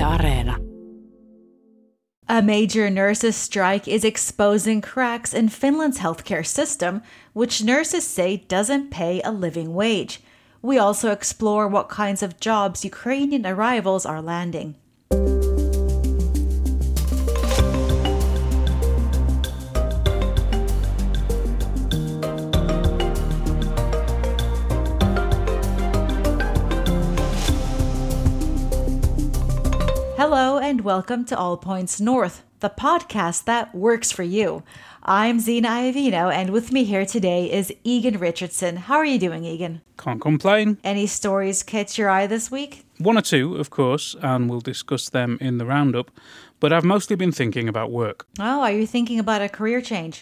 Areena. A major nurses' strike is exposing cracks in Finland's healthcare system, which nurses say doesn't pay a living wage. We also explore what kinds of jobs Ukrainian arrivals are landing. Hello and welcome to All Points North, the podcast that works for you. I'm Zena Iovino, and with me here today is Egan Richardson. How are you doing, Egan? Can't complain. Any stories catch your eye this week? One or two, of course, and we'll discuss them in the roundup. But I've mostly been thinking about work. Oh, are you thinking about a career change?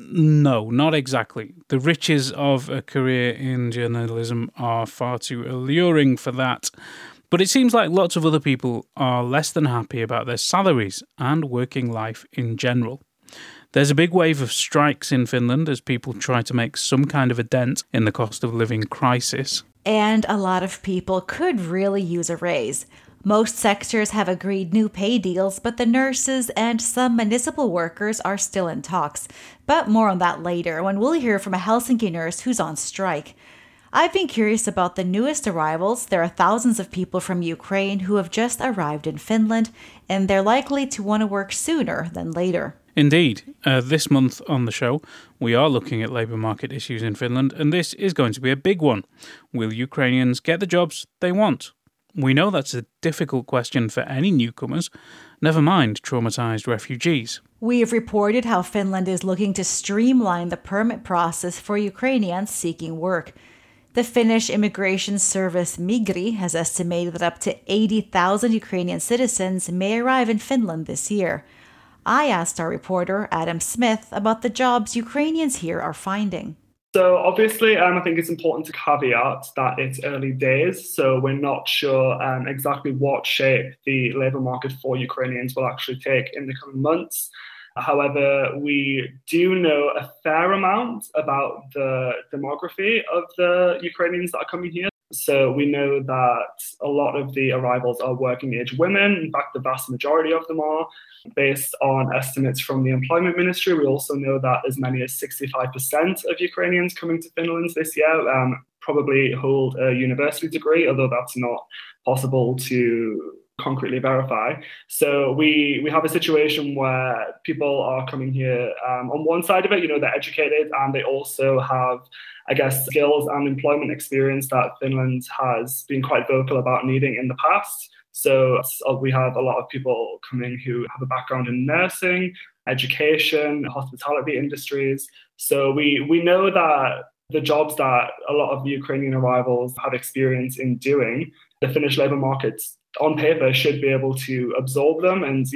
No, not exactly. The riches of a career in journalism are far too alluring for that. But it seems like lots of other people are less than happy about their salaries and working life in general. There's a big wave of strikes in Finland as people try to make some kind of a dent in the cost of living crisis. And a lot of people could really use a raise. Most sectors have agreed new pay deals, but the nurses and some municipal workers are still in talks. But more on that later, when we'll hear from a Helsinki nurse who's on strike. I've been curious about the newest arrivals. There are thousands of people from Ukraine who have just arrived in Finland, and they're likely to want to work sooner than later. Indeed. This month on the show, we are looking at labour market issues in Finland, and this is going to be a big one. Will Ukrainians get the jobs they want? We know that's a difficult question for any newcomers, never mind traumatised refugees. We have reported how Finland is looking to streamline the permit process for Ukrainians seeking work. The Finnish immigration service Migri has estimated that up to 80,000 Ukrainian citizens may arrive in Finland this year. I asked our reporter, Adam Smith, about the jobs Ukrainians here are finding. So obviously, I think it's important to caveat that it's early days, so we're not sure exactly what shape the labour market for Ukrainians will actually take in the coming months. However, we do know a fair amount about the demography of the Ukrainians that are coming here. So we know that a lot of the arrivals are working age women. In fact, the vast majority of them are. Based on estimates from the Employment Ministry, we also know that as many as 65% of Ukrainians coming to Finland this year probably hold a university degree, although that's not possible to concretely verify. So we have a situation where people are coming here on one side of it, they're educated and they also have, skills and employment experience that Finland has been quite vocal about needing in the past. So we have a lot of people coming who have a background in nursing, education, hospitality industries. So we know that the jobs that a lot of the Ukrainian arrivals have experience in doing, the Finnish labour markets on paper should be able to absorb them and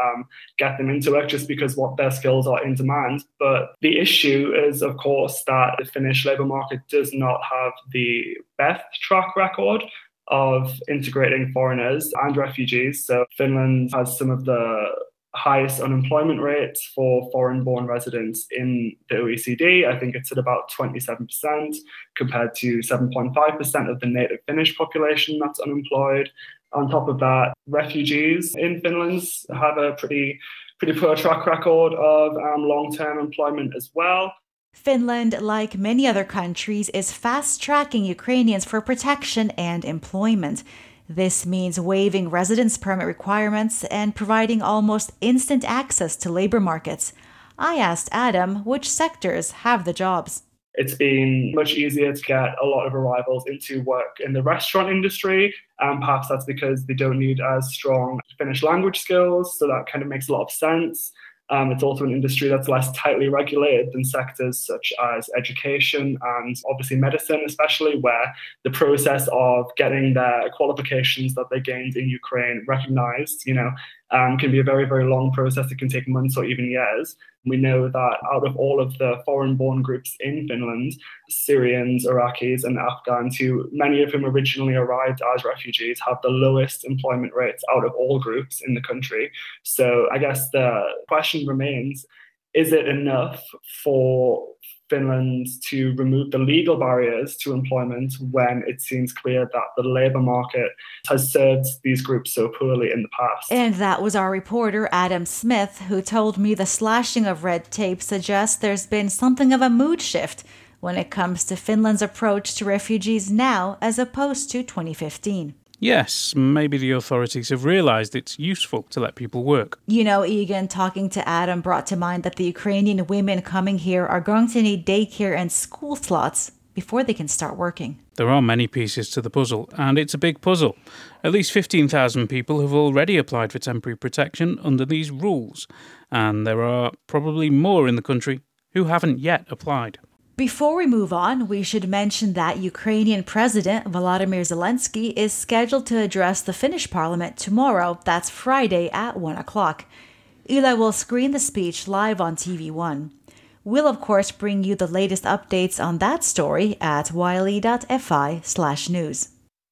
get them into work just because what their skills are in demand. But the issue is, of course, that the Finnish labour market does not have the best track record of integrating foreigners and refugees. So Finland has some of the highest unemployment rates for foreign-born residents in the OECD. I think it's at about 27% compared to 7.5% of the native Finnish population that's unemployed. On top of that, refugees in Finland have a pretty poor track record of long-term employment as well. Finland, like many other countries, is fast-tracking Ukrainians for protection and employment. This means waiving residence permit requirements and providing almost instant access to labor markets. I asked Adam which sectors have the jobs. It's been much easier to get a lot of arrivals into work in the restaurant industry. Perhaps that's because they don't need as strong Finnish language skills, so that kind of makes a lot of sense. It's also an industry that's less tightly regulated than sectors such as education and obviously medicine, especially where the process of getting their qualifications that they gained in Ukraine recognized, can be a very, very long process. It can take months or even years. We know that out of all of the foreign-born groups in Finland, Syrians, Iraqis and Afghans, who many of whom originally arrived as refugees, have the lowest employment rates out of all groups in the country. So I guess the question remains, is it enough for Finland to remove the legal barriers to employment when it seems clear that the labour market has served these groups so poorly in the past. And that was our reporter, Adam Smith, who told me the slashing of red tape suggests there's been something of a mood shift when it comes to Finland's approach to refugees now as opposed to 2015. Yes, maybe the authorities have realised it's useful to let people work. You know, Egan, talking to Adam brought to mind that the Ukrainian women coming here are going to need daycare and school slots before they can start working. There are many pieces to the puzzle, and it's a big puzzle. At least 15,000 people have already applied for temporary protection under these rules, and there are probably more in the country who haven't yet applied. Before we move on, we should mention that Ukrainian President Volodymyr Zelensky is scheduled to address the Finnish parliament tomorrow, that's Friday at 1 o'clock. Yle will screen the speech live on TV1. We'll of course bring you the latest updates on that story at yle.fi/news.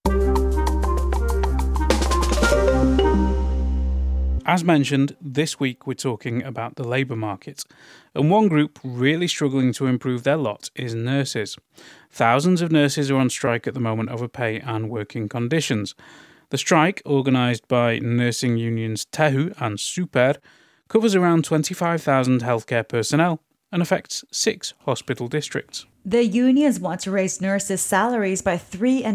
As mentioned, this week we're talking about the labour market, and one group really struggling to improve their lot is nurses. Thousands of nurses are on strike at the moment over pay and working conditions. The strike, organised by nursing unions Tehu and Super, covers around 25,000 healthcare personnel and affects 6 hospital districts. The unions want to raise nurses' salaries by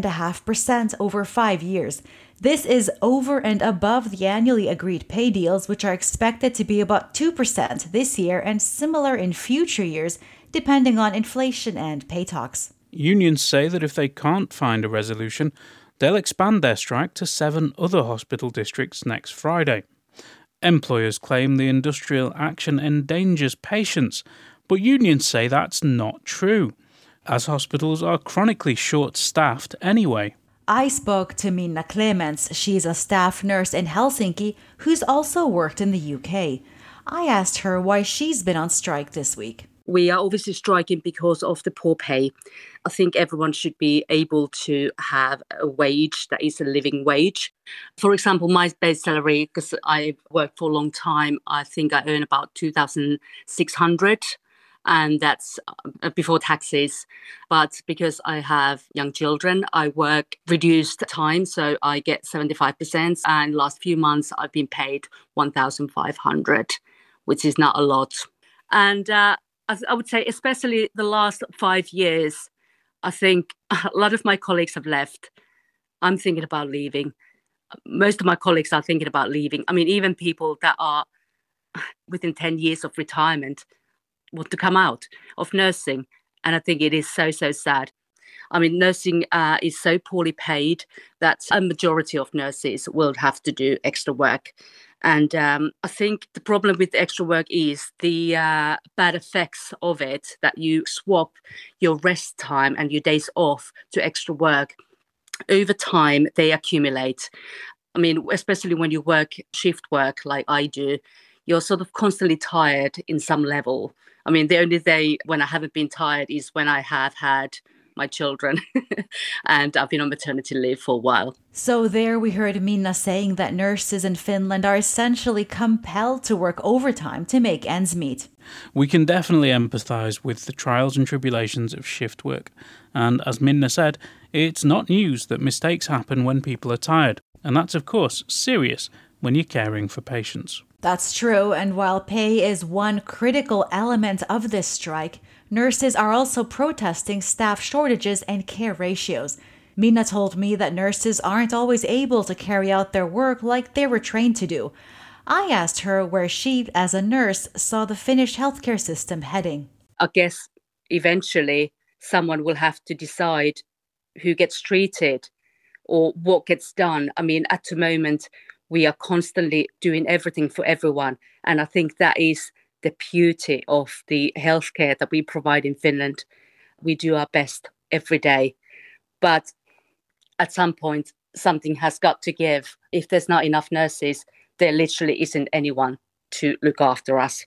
3.5% over 5 years. This is over and above the annually agreed pay deals, which are expected to be about 2% this year and similar in future years, depending on inflation and pay talks. Unions say that if they can't find a resolution, they'll expand their strike to 7 other hospital districts next Friday. Employers claim the industrial action endangers patients, but unions say that's not true, as hospitals are chronically short-staffed anyway. I spoke to Minna Clements. She's a staff nurse in Helsinki who's also worked in the UK. I asked her why she's been on strike this week. We are obviously striking because of the poor pay. I think everyone should be able to have a wage that is a living wage. For example, my base salary, because I worked for a long time, I think I earn about 2,600. And that's before taxes. But because I have young children, I work reduced time, so I get 75%. And last few months, I've been paid 1,500, which is not a lot. And I would say, especially the last 5 years, I think a lot of my colleagues have left. I'm thinking about leaving. Most of my colleagues are thinking about leaving. I mean, even people that are within 10 years of retirement want to come out of nursing. And I think it is so, so sad. I mean, nursing is so poorly paid that a majority of nurses will have to do extra work. And I think the problem with the extra work is the bad effects of it, that you swap your rest time and your days off to extra work. Over time, they accumulate. I mean, especially when you work shift work like I do, you're sort of constantly tired in some level. I mean, the only day when I haven't been tired is when I have had my children and I've been on maternity leave for a while. So there we heard Minna saying that nurses in Finland are essentially compelled to work overtime to make ends meet. We can definitely empathise with the trials and tribulations of shift work. And as Minna said, it's not news that mistakes happen when people are tired. And that's, of course, serious when you're caring for patients. That's true, and while pay is one critical element of this strike, nurses are also protesting staff shortages and care ratios. Minna told me that nurses aren't always able to carry out their work like they were trained to do. I asked her where she, as a nurse, saw the Finnish healthcare system heading. I guess eventually someone will have to decide who gets treated or what gets done. I mean, at the moment, we are constantly doing everything for everyone. And I think that is the beauty of the healthcare that we provide in Finland. We do our best every day. But at some point, something has got to give. If there's not enough nurses, there literally isn't anyone to look after us.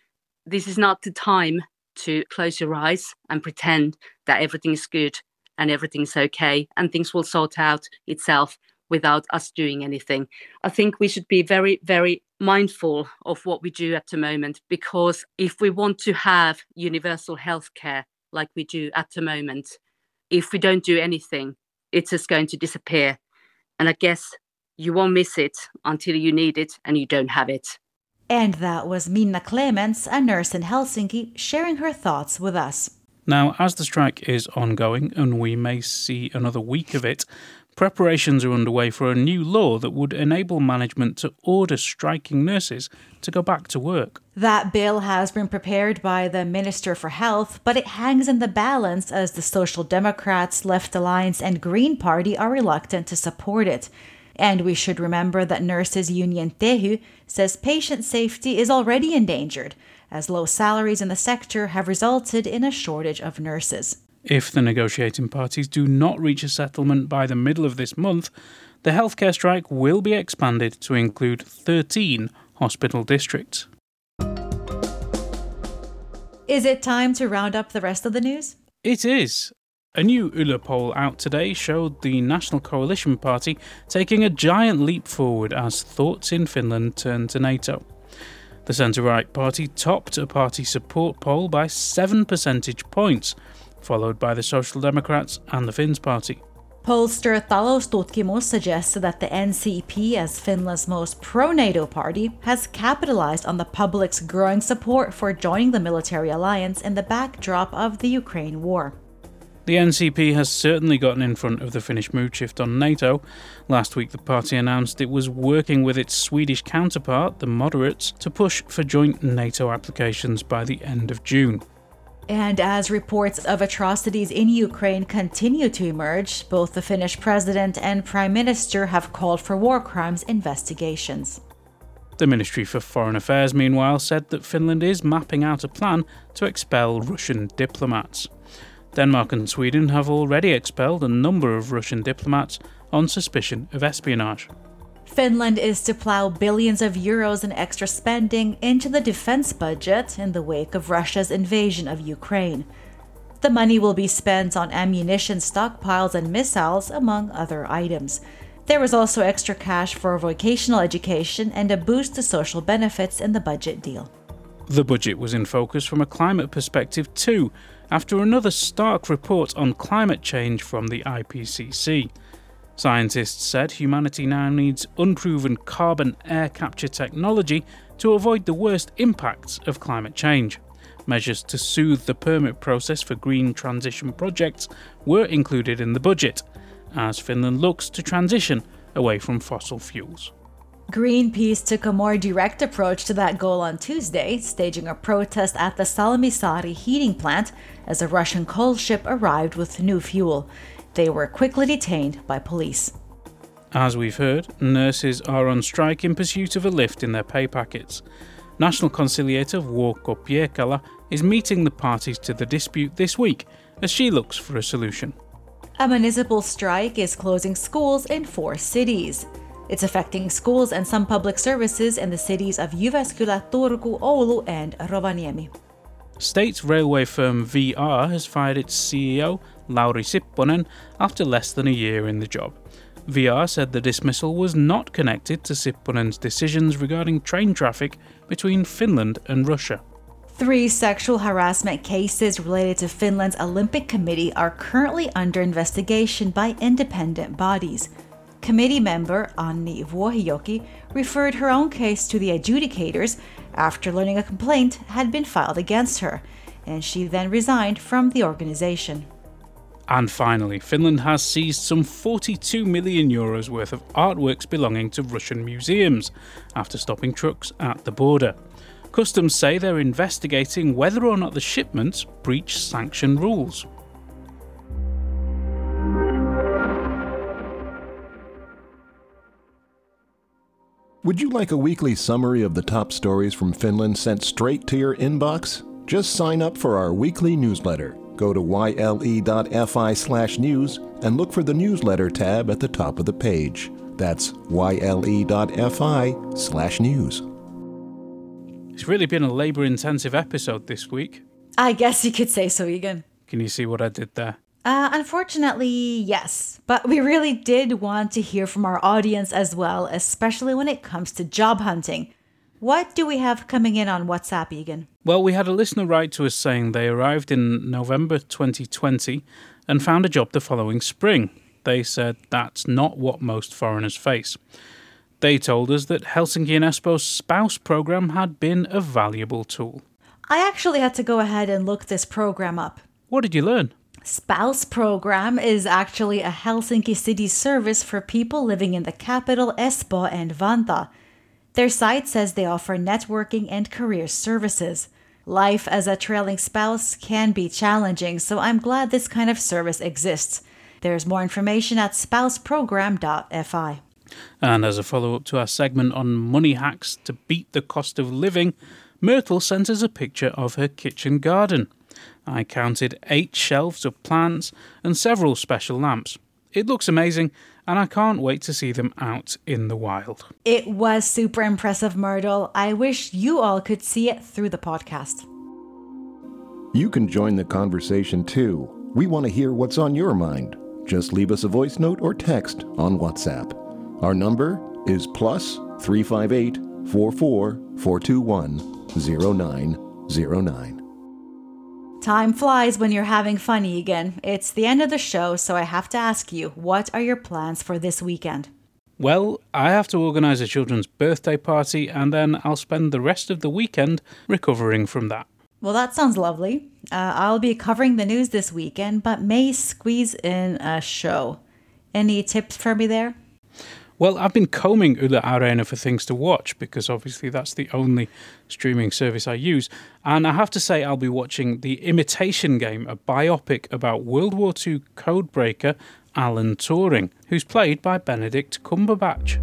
This is not the time to close your eyes and pretend that everything is good and everything's okay and things will sort out itself. without us doing anything. I think we should be very, very mindful of what we do at the moment, because if we want to have universal healthcare like we do at the moment, if we don't do anything, it's just going to disappear. And I guess you won't miss it until you need it and you don't have it. And that was Minna Clements, a nurse in Helsinki, sharing her thoughts with us. Now, as the strike is ongoing and we may see another week of it, preparations are underway for a new law that would enable management to order striking nurses to go back to work. That bill has been prepared by the Minister for Health, but it hangs in the balance as the Social Democrats, Left Alliance and Green Party are reluctant to support it. And we should remember that nurses union Tehy says patient safety is already endangered, as low salaries in the sector have resulted in a shortage of nurses. If the negotiating parties do not reach a settlement by the middle of this month, the healthcare strike will be expanded to include 13 hospital districts. Is it time to round up the rest of the news? It is. A new Yle poll out today showed the National Coalition Party taking a giant leap forward as thoughts in Finland turn to NATO. The centre-right party topped a party support poll by 7 percentage points, followed by the Social Democrats and the Finns party. Pollster Taloustutkimus suggests that the NCP, as Finland's most pro-NATO party, has capitalized on the public's growing support for joining the military alliance in the backdrop of the Ukraine war. The NCP has certainly gotten in front of the Finnish mood shift on NATO. Last week the party announced it was working with its Swedish counterpart, the moderates, to push for joint NATO applications by the end of June. And as reports of atrocities in Ukraine continue to emerge, both the Finnish president and prime minister have called for war crimes investigations. The Ministry for Foreign Affairs, meanwhile, said that Finland is mapping out a plan to expel Russian diplomats. Denmark and Sweden have already expelled a number of Russian diplomats on suspicion of espionage. Finland is to plow billions of euros in extra spending into the defense budget in the wake of Russia's invasion of Ukraine. The money will be spent on ammunition stockpiles and missiles, among other items. There was also extra cash for vocational education and a boost to social benefits in the budget deal. The budget was in focus from a climate perspective too, after another stark report on climate change from the IPCC. Scientists said humanity now needs unproven carbon air capture technology to avoid the worst impacts of climate change. Measures to soothe the permit process for green transition projects were included in the budget, as Finland looks to transition away from fossil fuels. Greenpeace took a more direct approach to that goal on Tuesday, staging a protest at the Salmisaari heating plant as a Russian coal ship arrived with new fuel. They were quickly detained by police. As we've heard, nurses are on strike in pursuit of a lift in their pay packets. National Conciliator Vuokko Piekala is meeting the parties to the dispute this week as she looks for a solution. A municipal strike is closing schools in 4 cities. It's affecting schools and some public services in the cities of Jyväskylä, Turku, Oulu and Rovaniemi. State railway firm VR has fired its CEO, Lauri Sipponen, after less than a year in the job. VR said the dismissal was not connected to Sipponen's decisions regarding train traffic between Finland and Russia. 3 sexual harassment cases related to Finland's Olympic Committee are currently under investigation by independent bodies. Committee member Anni Vuohijoki referred her own case to the adjudicators after learning a complaint had been filed against her, and she then resigned from the organization. And finally, Finland has seized some 42 million euros worth of artworks belonging to Russian museums after stopping trucks at the border. Customs say they're investigating whether or not the shipments breach sanction rules. Would you like a weekly summary of the top stories from Finland sent straight to your inbox? Just sign up for our weekly newsletter. Go to yle.fi/news and look for the newsletter tab at the top of the page. That's yle.fi/news. It's really been a labour-intensive episode this week. I guess you could say so, Egan. Can you see what I did there? Unfortunately, yes. But we really did want to hear from our audience as well, especially when it comes to job hunting. What do we have coming in on WhatsApp, Egan? Well, we had a listener write to us saying they arrived in November 2020 and found a job the following spring. They said that's not what most foreigners face. They told us that Helsinki and Espoo's spouse program had been a valuable tool. I actually had to go ahead and look this program up. What did you learn? Spouse Program is actually a Helsinki city service for people living in the capital Espoo and Vantaa. Their site says they offer networking and career services. Life as a trailing spouse can be challenging, so I'm glad this kind of service exists. There's more information at spouseprogram.fi. And as a follow-up to our segment on money hacks to beat the cost of living, Myrtle sent us a picture of her kitchen garden. I counted 8 shelves of plants and several special lamps. It looks amazing, and I can't wait to see them out in the wild. It was super impressive, Myrtle. I wish you all could see it through the podcast. You can join the conversation too. We want to hear what's on your mind. Just leave us a voice note or text on WhatsApp. Our number is +358 44 421 0909. Time flies when you're having fun, Egan. It's the end of the show, so I have to ask you, what are your plans for this weekend? Well, I have to organise a children's birthday party, and then I'll spend the rest of the weekend recovering from that. Well, that sounds lovely. I'll be covering the news this weekend, but may squeeze in a show. Any tips for me there? Well, I've been combing Yle Areena for things to watch because obviously that's the only streaming service I use. And I have to say I'll be watching The Imitation Game, a biopic about World War II codebreaker Alan Turing, who's played by Benedict Cumberbatch.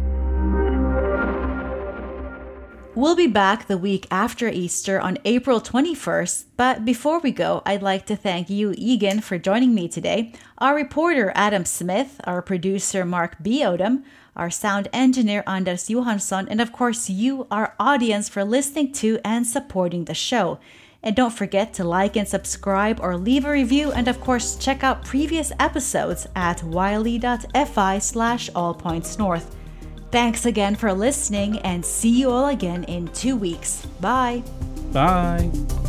We'll be back the week after Easter on April 21st, but before we go, I'd like to thank you, Egan, for joining me today, our reporter Adam Smith, our producer Mark B. Odom, our sound engineer Anders Johansson, and of course you, our audience, for listening to and supporting the show. And don't forget to like and subscribe or leave a review, and of course check out previous episodes at wiley.fi/allpointsnorth. Thanks again for listening, and see you all again in 2 weeks. Bye. Bye.